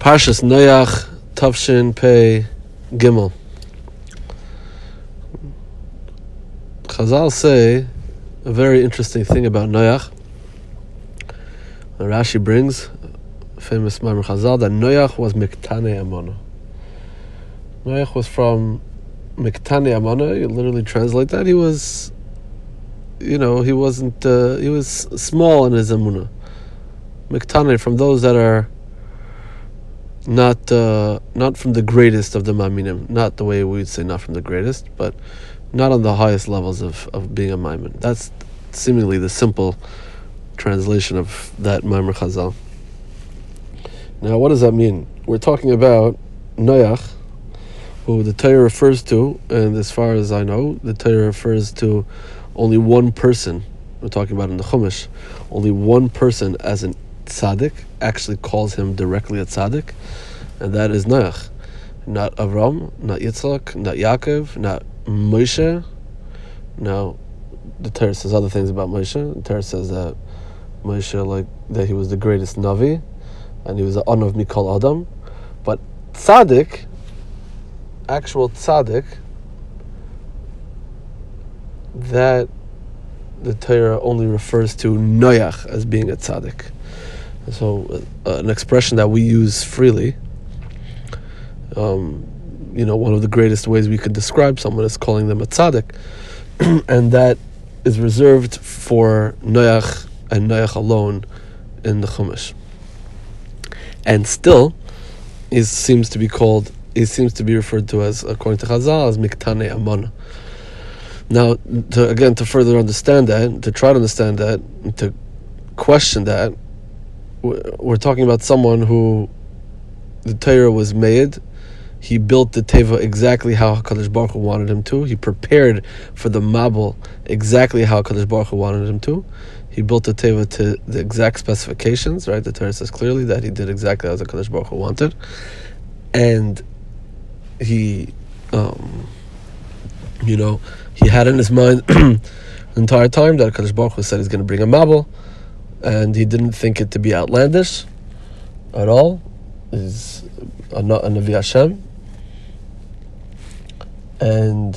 Parshas Noach, Tavshin Pei Gimel. Chazal say a very interesting thing about Noach. Rashi brings a famous Maimar Chazal that Noach was Miktane Amona. Noach was from Miktane Amona. You literally translate that. He was, he was small in his Amunah. Miktane, from those that are not from the greatest of the Ma'aminim, not the way we would say not from the greatest, but not on the highest levels of being a Maimin. That's seemingly the simple translation of that Maimar Chazal. Now, what does that mean? We're talking about Noach, who the Torah refers to, and as far as I know, the Torah refers to only one person. We're talking about in the Chumash, only one person as an tzaddik, actually calls him directly a tzaddik, and that is Noach. Not Avram, not Yitzchak, not Yaakov, not Moshe. Now, the Torah says other things about Moshe. The Torah says that Moshe, that he was the greatest Navi, and he was the honor of Mikol Adam. But tzaddik, actual tzaddik, that the Torah only refers to Noach as being a tzaddik. So, an expression that we use freely. One of the greatest ways we could describe someone is calling them a tzaddik, and that is reserved for Noach and Noach alone in the Chumash. And still, he seems to be referred to as, according to Chazal, as Miktane Amona. Now, to further understand that, to try to understand that, and to question that, we're talking about someone who the Torah was made. He built the Teva exactly how HaKadosh Baruch Hu wanted him to. He prepared for the Mabul exactly how HaKadosh Baruch Hu wanted him to. He built the Teva to the exact specifications, right? The Torah says clearly that he did exactly as HaKadosh Baruch Hu wanted. And he, he had in his mind the entire time that HaKadosh Baruch Hu said he's going to bring a Mabul, and he didn't think it to be outlandish at all. He's a Navi Hashem. And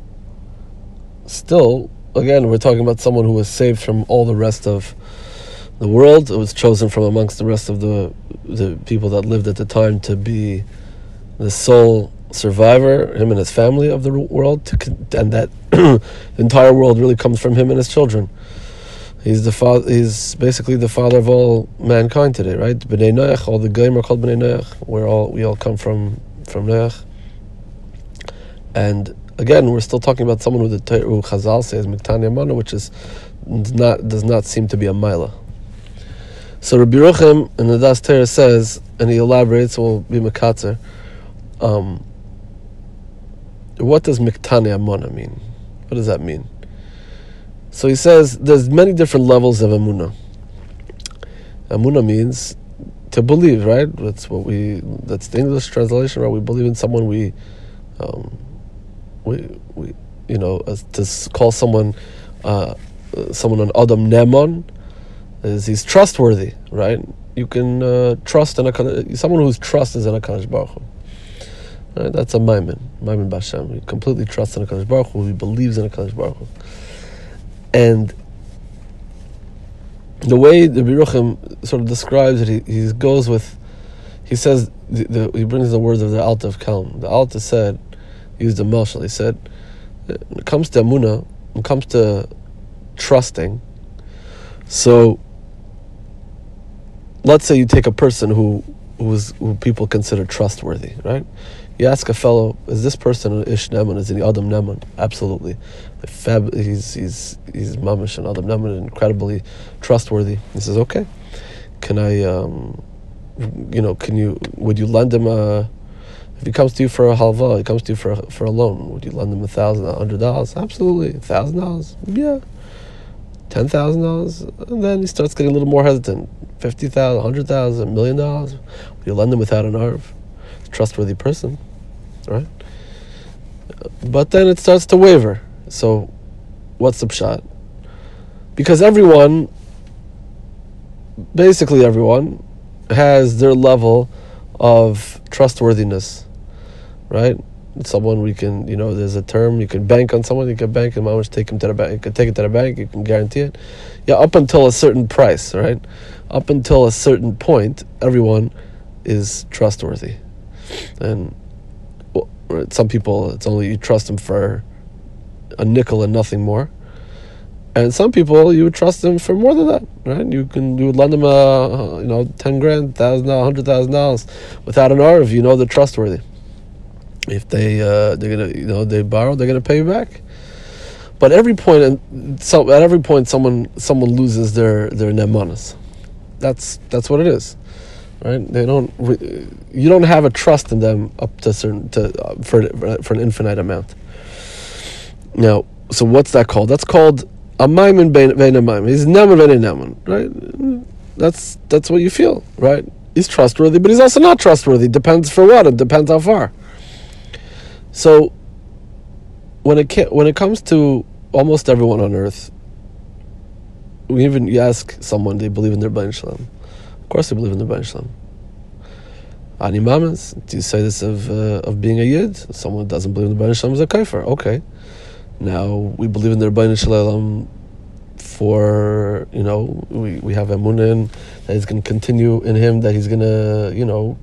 still, again, we're talking about someone who was saved from all the rest of the world. It was chosen from amongst the rest of the people that lived at the time to be the sole survivor, him and his family, of the world, and that the entire world really comes from him and his children. He's the father. He's basically the father of all mankind today, right? Bnei Noach, all the Goyim are called Bnei Noach. We all come from Noach. And again, we're still talking about someone who Chazal says Miktane Amona, which does not seem to be a Maila. So Rabbi Yerucham in the Das Torah says, and he elaborates, we'll be Mekatzer. What does Miktane Amona mean? What does that mean? So he says there's many different levels of Amunah. Amunah means to believe, right? That's the English translation, right? We believe in someone. To call someone an Adam Nemon is he's trustworthy, right? You can trust in someone whose trust is in HaKadosh Baruch Hu. Right? That's a Maimin Bashem. He completely trusts in HaKadosh Baruch Hu. He believes in HaKadosh Baruch Hu. And the way the Biruchim sort of describes it, he says, he brings the words of the Alta of Kelm. The Alta said, he used a Mashal, he said, when it comes to Amunah, when it comes to trusting, so let's say you take a person who people consider trustworthy, right? You ask a fellow, is this person an Ish Neman? Is he Adam Neman? Absolutely. He's Mamish and Adam Neman, incredibly trustworthy. He says, okay, can I, would you lend him if he comes to you for a halva, he comes to you for a loan, would you lend him $1,000, $100? Absolutely. $1,000? Yeah. $10,000? And then he starts getting a little more hesitant. $50,000, $100,000, $1 million? Would you lend him without an arv? Trustworthy person, right? But then it starts to waver. So, what's the pshat? Because basically everyone, has their level of trustworthiness, right? Someone we can, there's a term, you can bank on someone, you can bank and much take him to the bank, you can take it to the bank, you can guarantee it. Yeah, up until a certain price, right? Up until a certain point, everyone is trustworthy. And some people, it's only you trust them for a nickel and nothing more. And some people, you would trust them for more than that, right? You would lend them $10,000, $100,000, $100,000 without an R if you know they're trustworthy. If they're gonna, they borrow, they're gonna pay you back. But at every point, someone loses their nemanas. That's what it is, right? You don't have a trust in them up to for an infinite amount. Now, so what's that called? That's called a maimin bein a maimin. He's neman bein a neman, right? That's what you feel, right? He's trustworthy, but he's also not trustworthy. Depends for what. It depends how far. So when it comes to almost everyone on earth, you ask someone, they believe in their Bain Shalom. Of course they believe in their Bain Shalom. Ani mamas, do you say this of being a Yid? Someone doesn't believe in the Bain Shalom is a kafir. Okay. Now we believe in their Bain Shalom for, we have emunah in that he's going to continue in him, that he's going to,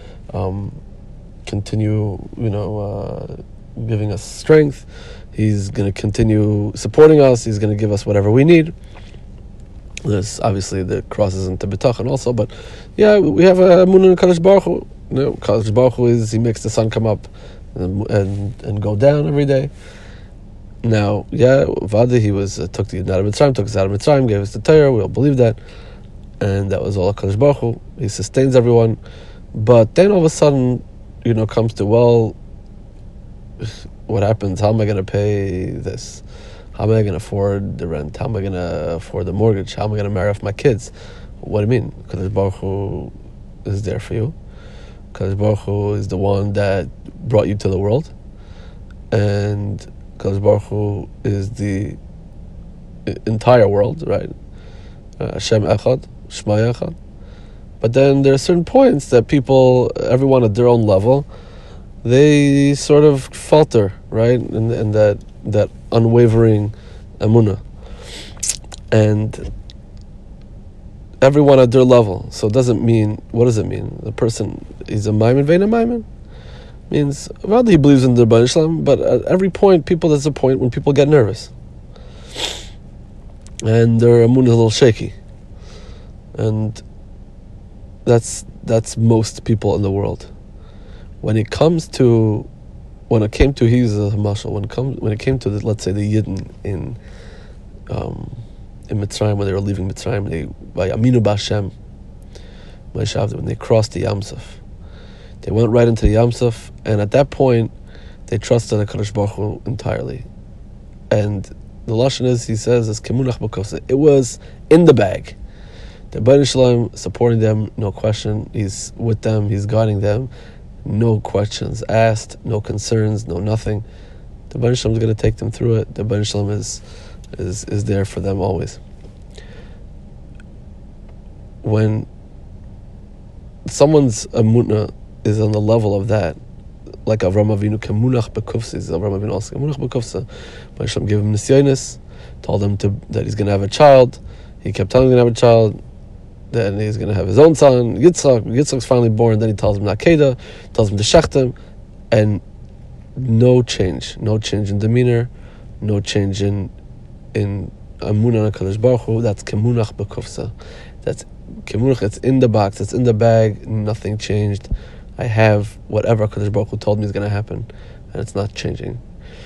continue, giving us strength. He's going to continue supporting us. He's going to give us whatever we need. There's obviously the crosses into B'tachon also, but yeah, we have a emunah in Kadosh Baruch Hu. Kadosh Baruch Hu he makes the sun come up and go down every day. Now, yeah, Vada, he took the Yidden out of Mitzrayim, took us out of Mitzrayim, gave us the Torah. We all believe that, and that was all Kadosh Baruch Hu. He sustains everyone, but then all of a sudden, comes to, well, what happens? How am I going to pay this? How am I going to afford the rent? How am I going to afford the mortgage? How am I going to marry off my kids? What do you mean? Kadosh Baruch Hu is there for you. Kadosh Baruch Hu is the one that brought you to the world, and Kadosh Baruch Hu is the entire world, right? Hashem Echad, Shema Echad. But then there are certain points that people, everyone at their own level, they sort of falter, right? And that unwavering emunah. And everyone at their level. So it doesn't mean, what does it mean? The person is a maimin vein a maimin. Means, well, he believes in the Rebbeinu Shalom, but at every point, there's a point when people get nervous. And their emunah is a little shaky. And that's most people in the world. When it came to he's a mashal. When it came to let's say the Yidden in Mitzrayim, when they were leaving Mitzrayim, by Aminu B'Hashem, when they crossed the Yam Suf, they went right into the Yam Suf, and at that point, they trusted the Kadosh Baruch Hu entirely. And the lashon is, he says, is kemunach b'kofsa. It was in the bag. The Rebbeinu Shalom supporting them, no question. He's with them. He's guiding them. No questions asked. No concerns. No nothing. The Rebbeinu Shalom is going to take them through it. The Rebbeinu Shalom is there for them always. When someone's emunah is on the level of that, like Avraham Avinu, kemunach b'kufsa, Avraham Avinu also kemunach b'kufsa. Rebbeinu Shalom gave him nisyonis, told him that he's going to have a child. He kept telling him he's going to have a child. Then he's going to have his own son, Yitzchak. Yitzchak's finally born. Then he tells him Nakeda, tells him to shechtem, and no change in demeanor, no change in amunah Kadosh Baruch Hu. That's kemunach b'kufsa. That's kemunach. It's in the box. It's in the bag. Nothing changed. I have whatever Kadosh Baruch Hu told me is going to happen, and it's not changing.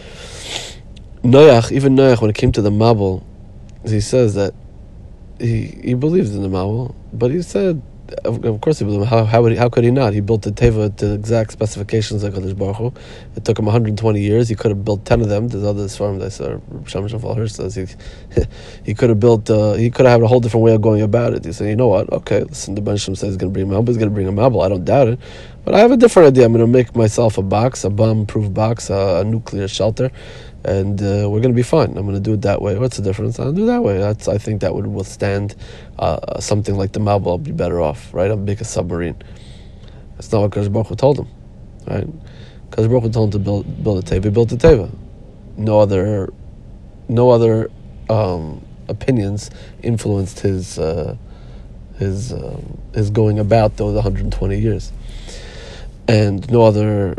Even Noach, when it came to the Mabul, he says that he believes in the Mabul, but he said, of course he believed. How could he not? He built the Teva to the exact specifications of Kadosh Baruch Hu. It took him 120 years. He could have built 10 of them. There's others from that Shamash Hirsch says he could have built. He could have had a whole different way of going about it. He said, you know what? Okay, listen. The Benishim says he's going to bring a Mabul. He's going to bring a Mabul. I don't doubt it, but I have a different idea. I'm going to make myself a box, a bomb-proof box, a nuclear shelter. And we're going to be fine. I'm going to do it that way. What's the difference? I'll do it that way. I think that would withstand something like the Mabul. I'll be better off, right? I'll make a submarine. That's not what Kadosh Baruch Hu told him, right? Kadosh Baruch Hu told him to build a teva. He built a teva. No other opinions influenced his going about those 120 years, and no other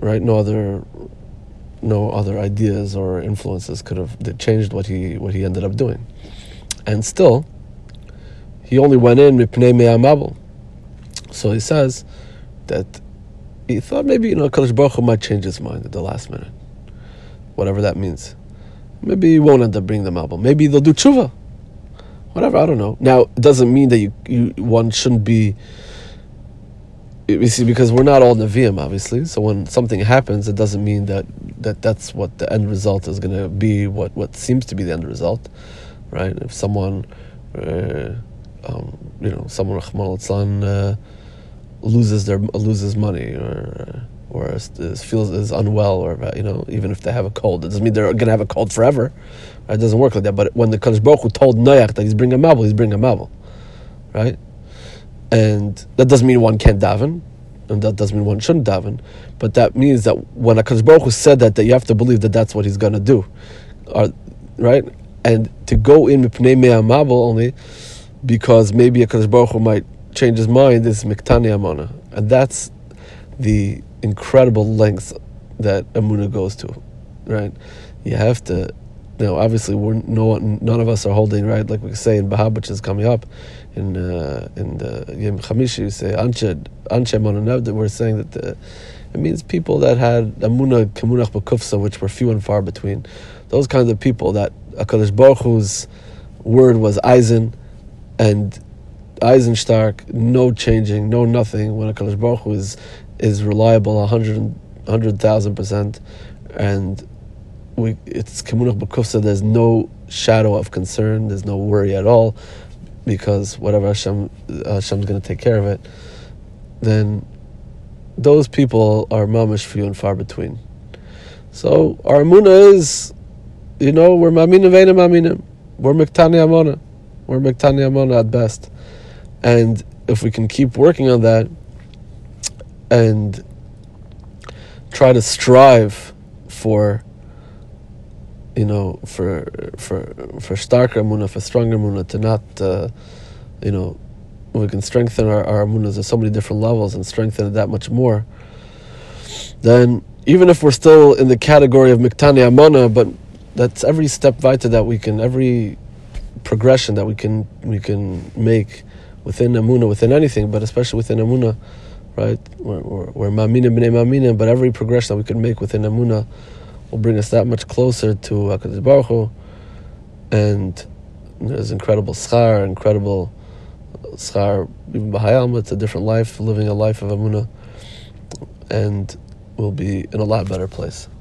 ideas or influences could have changed what he ended up doing. And still, he only went in mipnei me'amabel. So he says that he thought maybe Kadosh Baruch Hu might change his mind at the last minute, whatever that means. Maybe he won't end up bringing the mabel. Maybe they'll do tshuva. Whatever, I don't know. Now, it doesn't mean that one shouldn't be. You see, because we're not all Nevi'im, obviously. So when something happens, it doesn't mean that's what the end result is going to be. What seems to be the end result, right? If someone, someone Rahman al loses money or is unwell, or even if they have a cold, it doesn't mean they're going to have a cold forever. Right? It doesn't work like that. But when the Kadosh Baruch Hu told Noach that he's bringing a mabel, he's bringing a mabel, right? And that doesn't mean one can't daven, and that doesn't mean one shouldn't daven. But that means that when a Kadosh Baruch Hu said that you have to believe that that's what he's going to do, right? And to go in mipnei me'amabel only because maybe a Kadosh Baruch Hu might change his mind is miktani amona, and that's the incredible lengths that Emunah goes to, right? You have to, obviously none of us are holding, right? Like we say in Bahab, which is coming up in the Yom Chamishi, you say Anshe Emunah. We're saying that it means people that had Emunah Kemunach B'Kufsa, which were few and far between. Those kinds of people that HaKadosh Baruch Hu's word was Eisen and Eisen stark, no changing, no nothing. When HaKadosh Baruch Hu is reliable 100,000%, and it's Kemunach B'Kufsa. There's no shadow of concern. There's no worry at all, because whatever Hashem's going to take care of it. Then those people are mamish few and far between. So our emunah is, we're maminim ve'enim maminim. We're miktani amona. We're miktani amona at best. And if we can keep working on that and try to strive for starker emunah, for stronger emunah, to not, we can strengthen our emunahs at so many different levels and strengthen it that much more. Then, even if we're still in the category of miktani amona, but that's every step weiter that we can, every progression that we can make within emunah, within anything, but especially within emunah, right? We're maminim b'nei maminim, but every progression that we can make within emunah will bring us that much closer to HaKadosh Baruch Hu, and there's incredible schar, even b'hayalma. It's a different life, living a life of emunah, and we'll be in a lot better place.